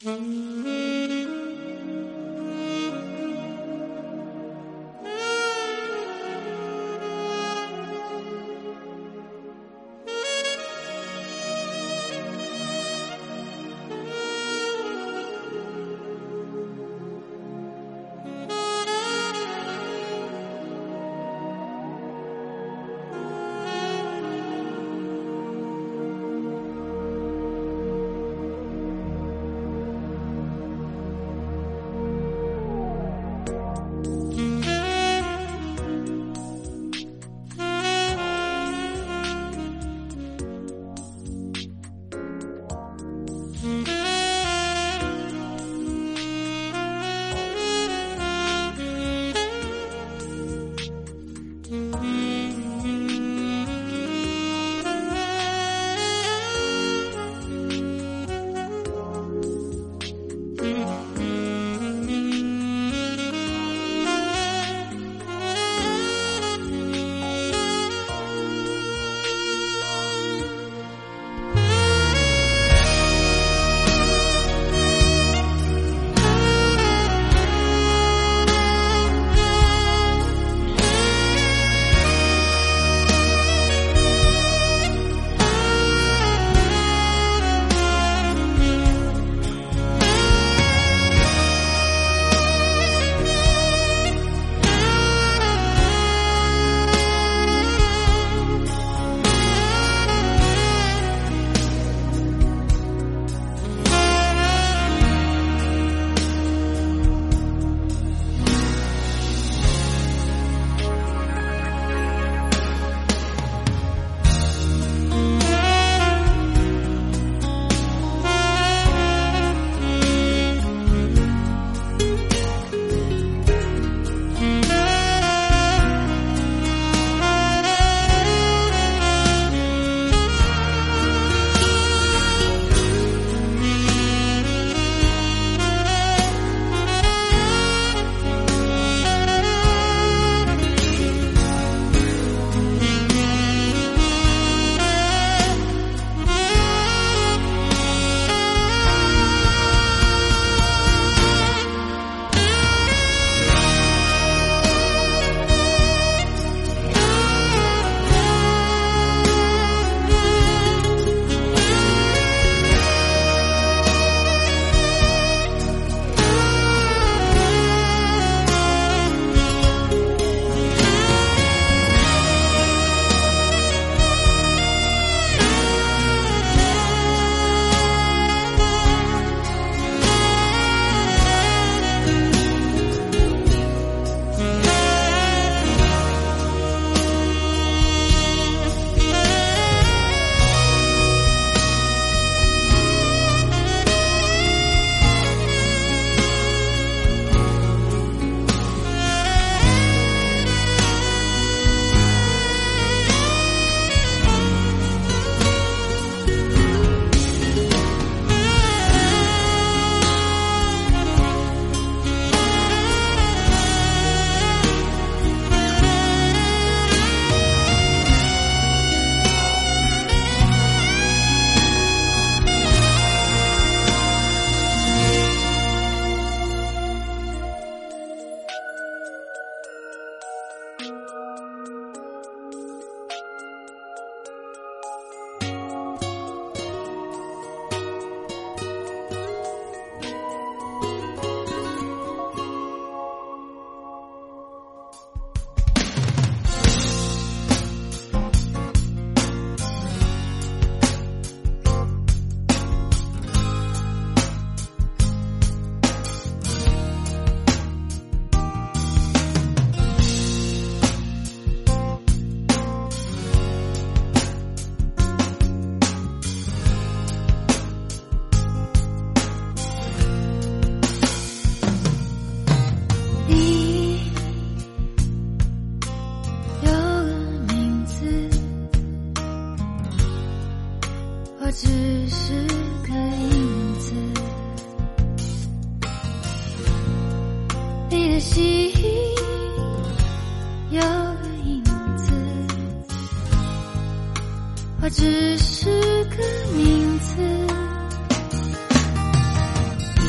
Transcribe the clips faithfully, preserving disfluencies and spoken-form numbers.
只是个名字。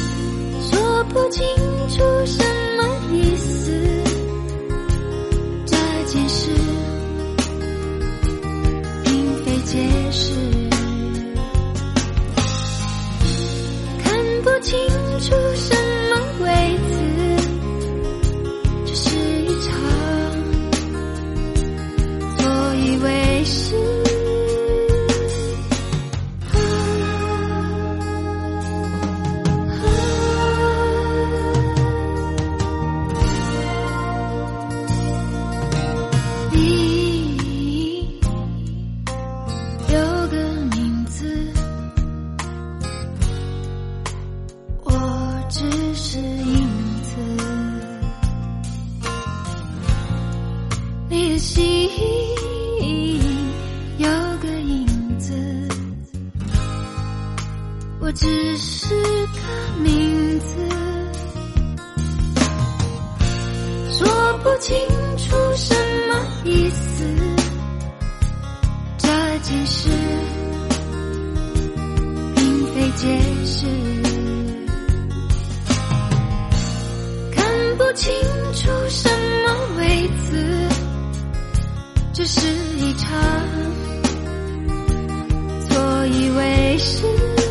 不清楚什么意思，这件事并非解释，看不清楚什么位置，这是一场错以为是。只是个名字，说不清楚什么意思，这件事并非解释，看不清楚什么位置，这是一场错以为是。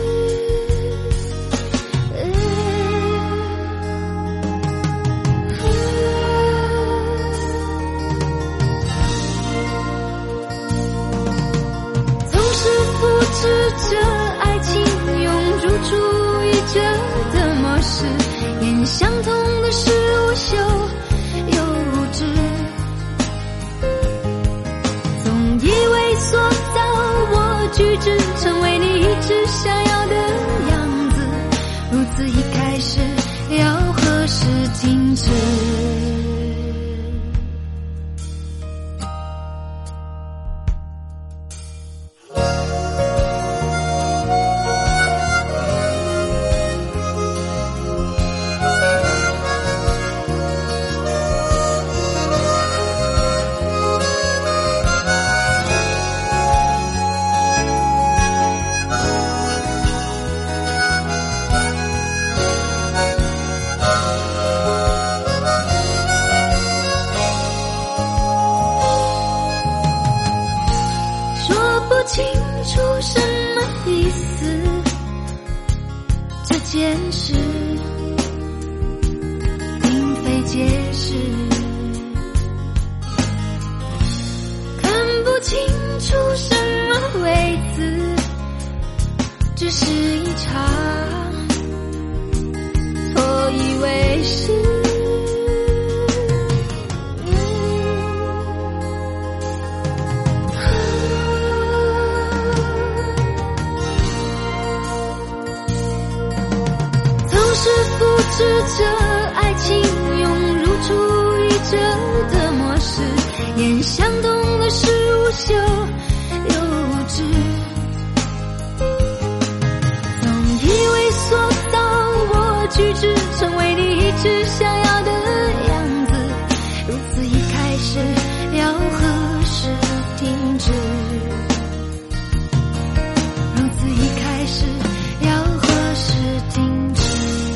是这爱情涌入注意着的模式，眼相同的是无休又无知，总以为塑造我举止成为你一直想要的样子，如此一开始要何时停止？不清楚什么意思，这件事并非解释，看不清楚什么位置，只是一场错以为是。是复制着爱情涌入注意着的模式，眼相同的是无休又无知，总以为塑造我举止成为你一直想要的样子，如此一开始要何时停止？如此一开始要何时停止？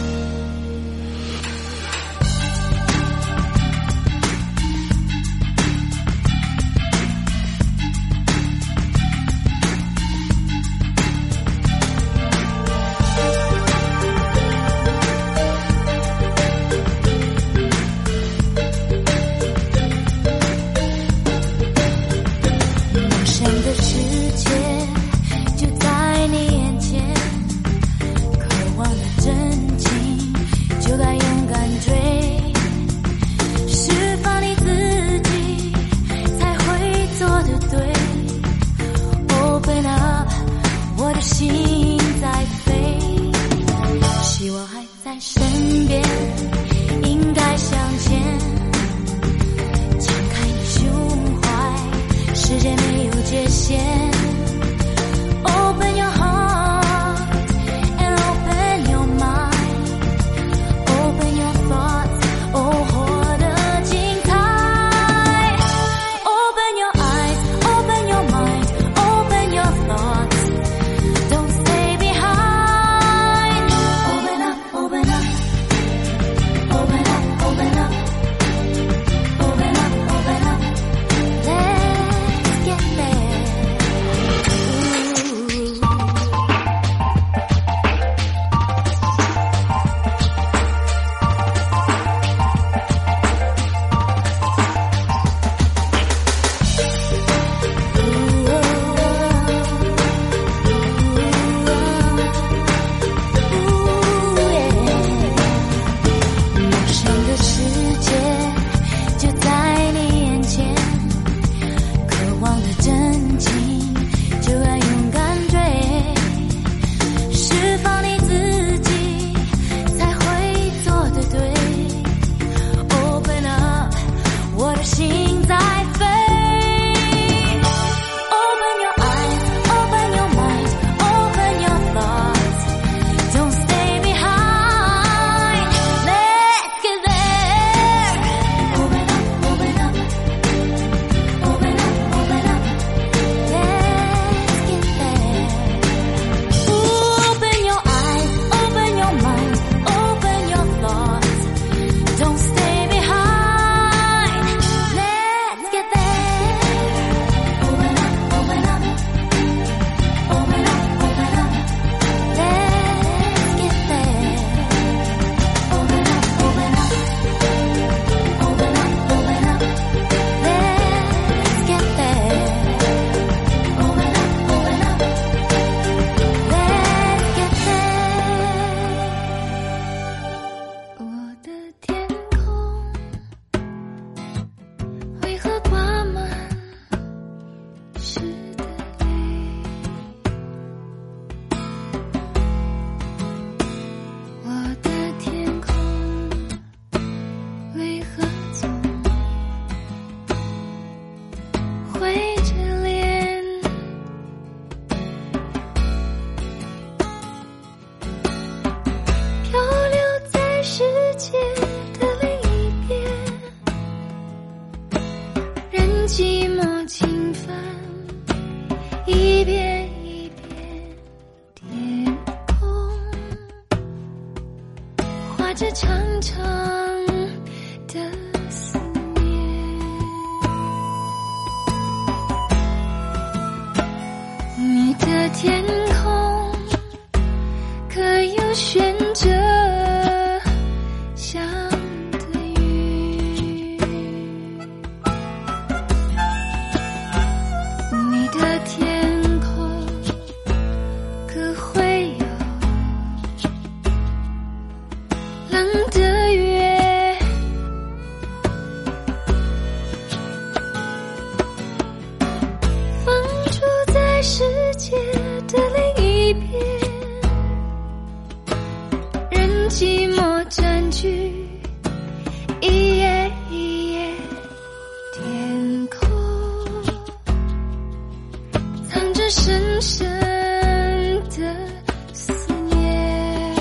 心在飞，希望还在身边，应该向前，敞开你胸怀，世界没有界限。 Open your heart and open your mind, open your thoughts, oh 活得精彩。 Open your eyes, open your mind, open your thoughts, don't stay behind. Open up, open up, 着长长的思念。你的天空可有悬着想的雨？你的天空可会有冷的月？放逐在世界的另一边，任寂寞占据一夜一夜天空，藏着深深的思念。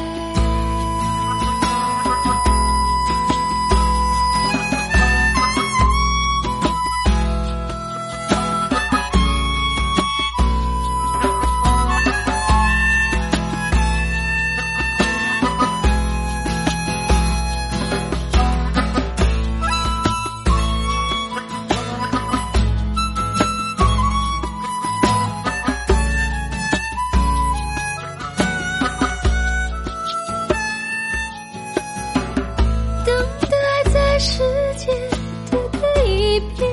等待在世界的另一边，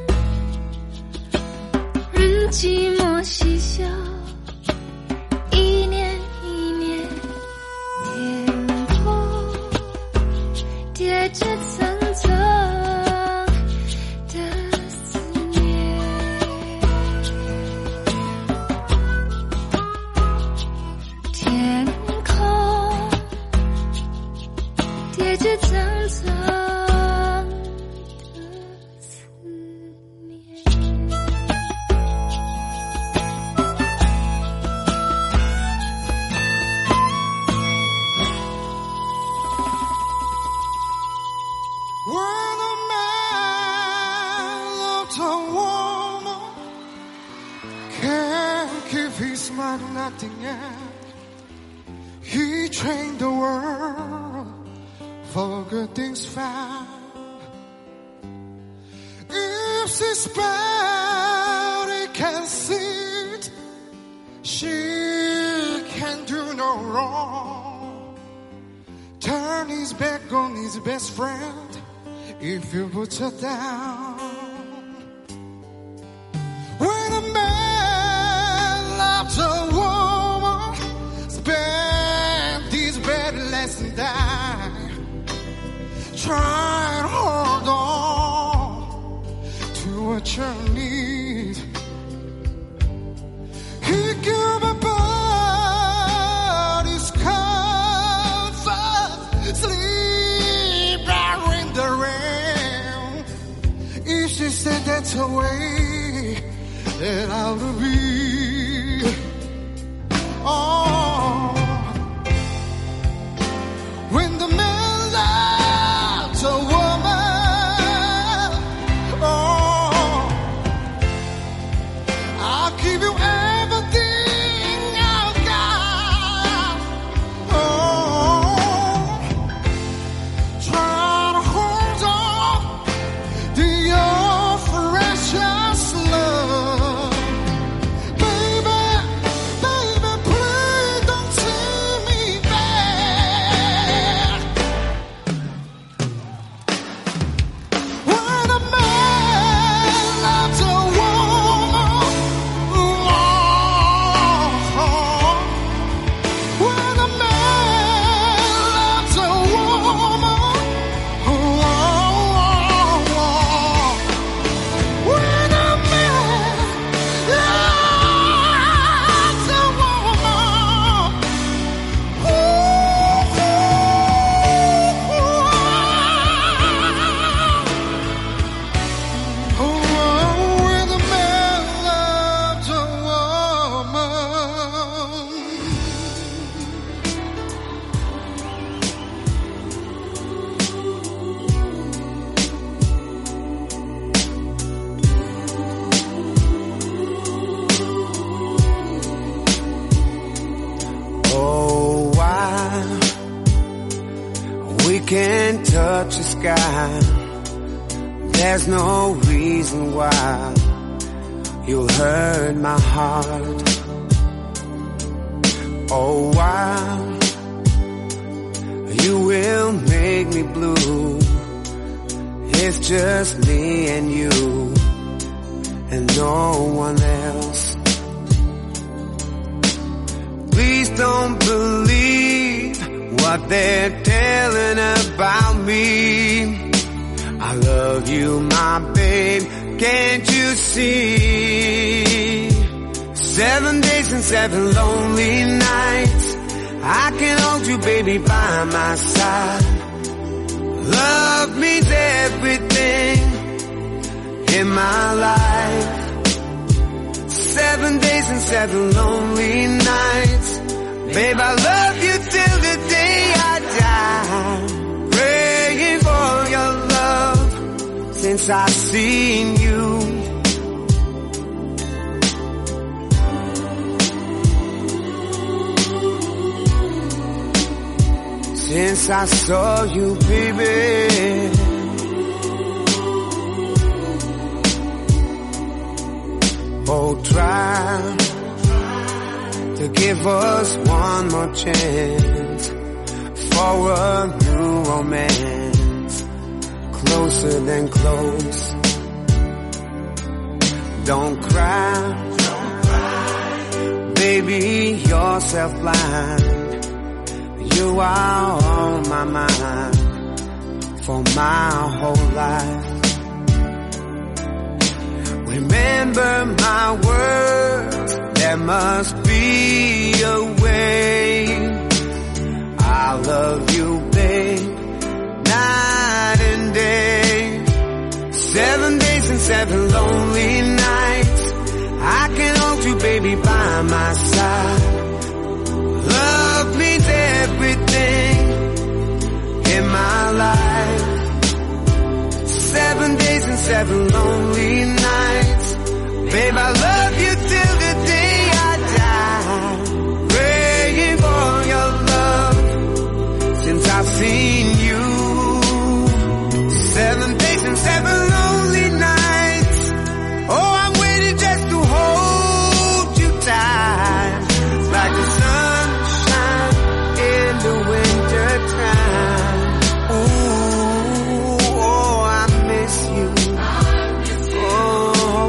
任寂寞嬉笑一年一年，天空叠着层层的思念。天空叠着层层的思念。 When a man loves a woman, can't keep his mind on nothing else. He trained the world for good things found. If she's bad, he can see it. She can do no wrong. Turn his back on his best friend if you put her down. When a man loves a woman, spend his bed less and die. Try and hold on to what you need. He give a body's comfort, sleep out in the rain. If she said that's her way, then I'll be. Oh, when the man loves a woman, oh, I'll give you everything I've got. Oh, try to hold on to your precious love. Baby, baby, please don't see me bad. can touch the sky. There's no reason why you'll hurt my heart. Oh, why you will make me blue. It's just me and you and no one else. Please don't believe what they're telling about me. I love you, my babe, can't you see? Seven days and seven lonely nights, I can hold you, baby, by my side. Love means everything in my life. Seven days and seven lonely nights, babe, I love you till the day I die. Praying for your love since I've seen you. Since I saw you, baby. Oh, try to give us one more chance for a new romance, closer than close. Don't cry, baby, you're self-blind. You are on my mind for my whole life. Remember my words, there must be a way. I love you, babe, night and day. Seven days and seven lonely nights, I can hold you, baby, by my side. Love means everything in my life. Seven days and seven lonely nights, babe, I love you till the day I die. Praying for your love since I've seen you. Seven days and seven lonely nights, oh, I'm waiting just to hold you tight, like the sunshine in the winter time. Ooh, oh, I miss you. Oh.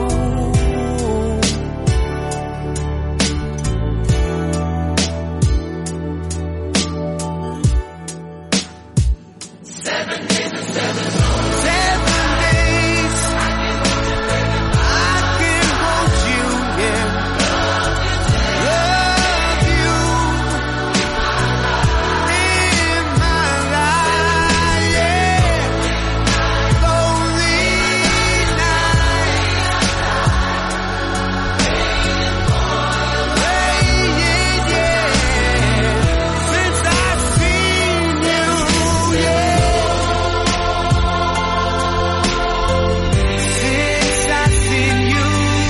Seven days and seven lonely Seven days I can hold you, yeah. Love you in my life, yeah. Lonely nights, yeah, yeah. Since I've seen you, yeah. Since I've seen you.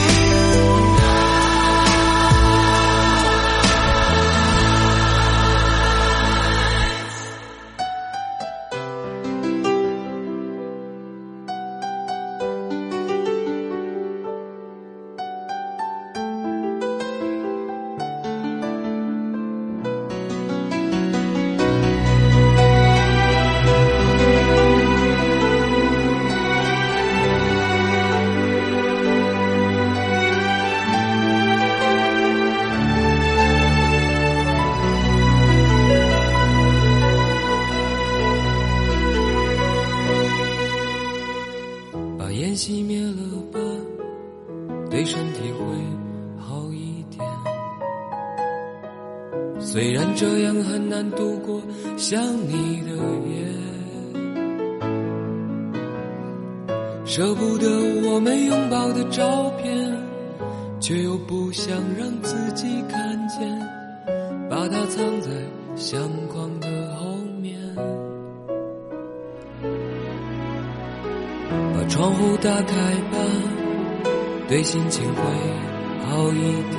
把烟熄灭了吧，对身体会好一点。虽然这样很难度过想你的夜，舍不得我们拥抱的照片，却又不想让自己看见，把它藏在相框的后面。把窗户打开吧，对心情会好一点，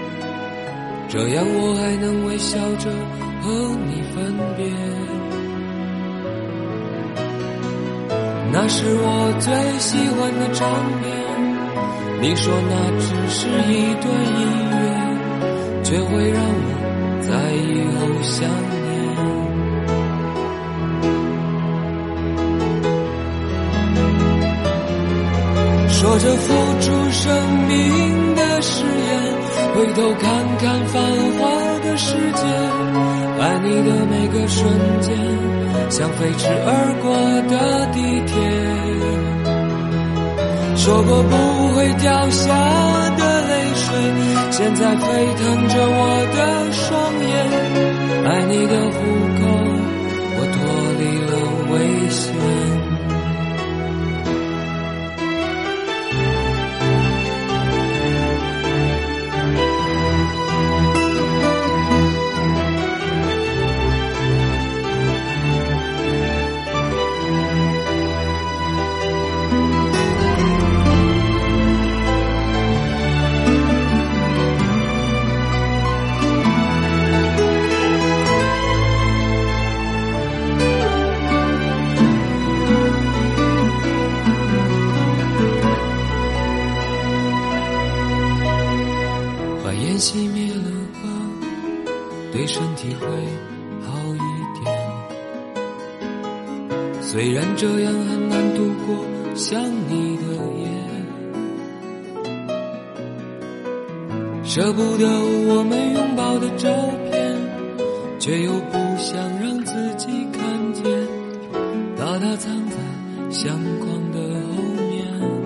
这样我还能微笑着和你分别。 那是我最喜欢的唱片，你说那只是一段音乐，却会让我在以后想念。说着付出生命的誓言，回头看看繁华的世界，爱你的每个瞬间，像飞驰而过的地铁。说过不会掉下的泪水，现在沸腾着我的双眼。爱你的虎口，我脱离了危险。熄灭了吧，对身体会好一点。虽然这样很难度过想你的夜，舍不得我们拥抱的照片，却又不想让自己看见，把它藏在相框的后面。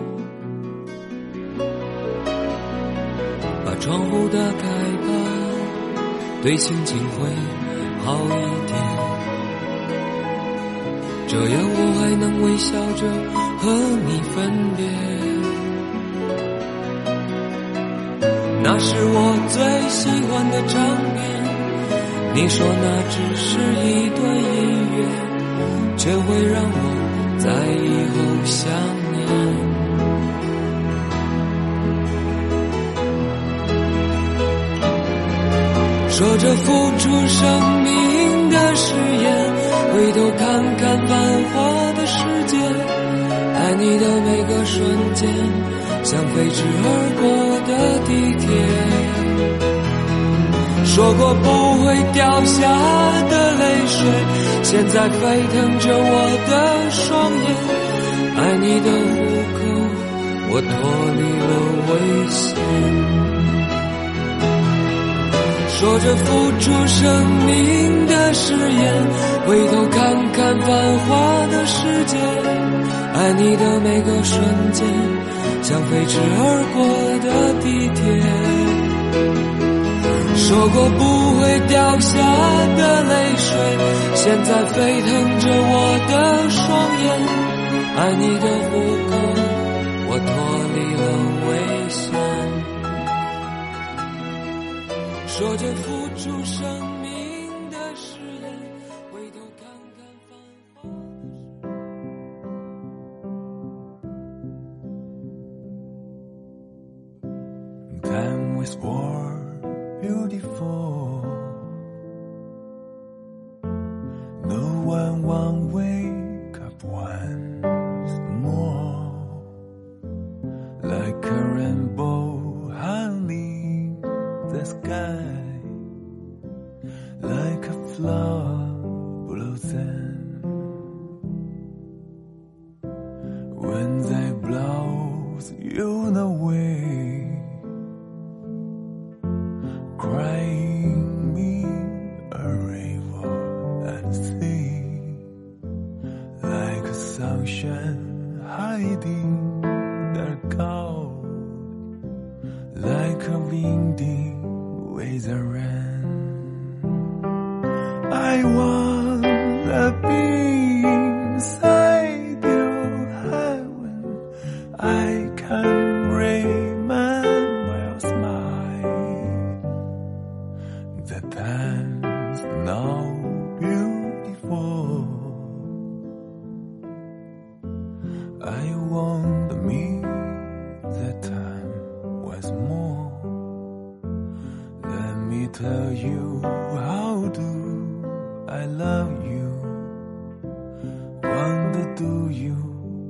窗户打开吧，对心情会好一点，这样我还能微笑着和你分别。那是我最喜欢的唱片，你说那只是一段音乐，却会让我在以后想念。说着付出生命的誓言，回头看看繁华的世界，爱你的每个瞬间，像飞驰而过的地铁。说过不会掉下的泪水，现在沸腾着我的双眼。爱你的虎口，我脱离了危险。说着付出生命的誓言，回头看看繁华的世界，爱你的每个瞬间，像飞驰而过的地铁。说过不会掉下的泪水，现在沸腾着我的双眼。爱你的虎口，我脱离了危险。说着付出生命的誓言，回头看看繁华。 Time was more beautiful. No one won't wake up once more, like a rainbow hanging the sky, like a flower blossom when they blows you away, crying me a river and sea, like a sunshine hiding the cloud, like a windy with the rain. I wanna be inside your heaven. I can remember your smile. The time's now beautiful. I want me that time was more. Let me tell you how do I love you. Wonder do you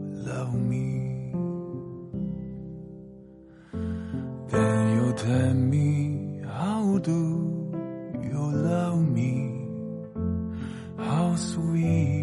sweet.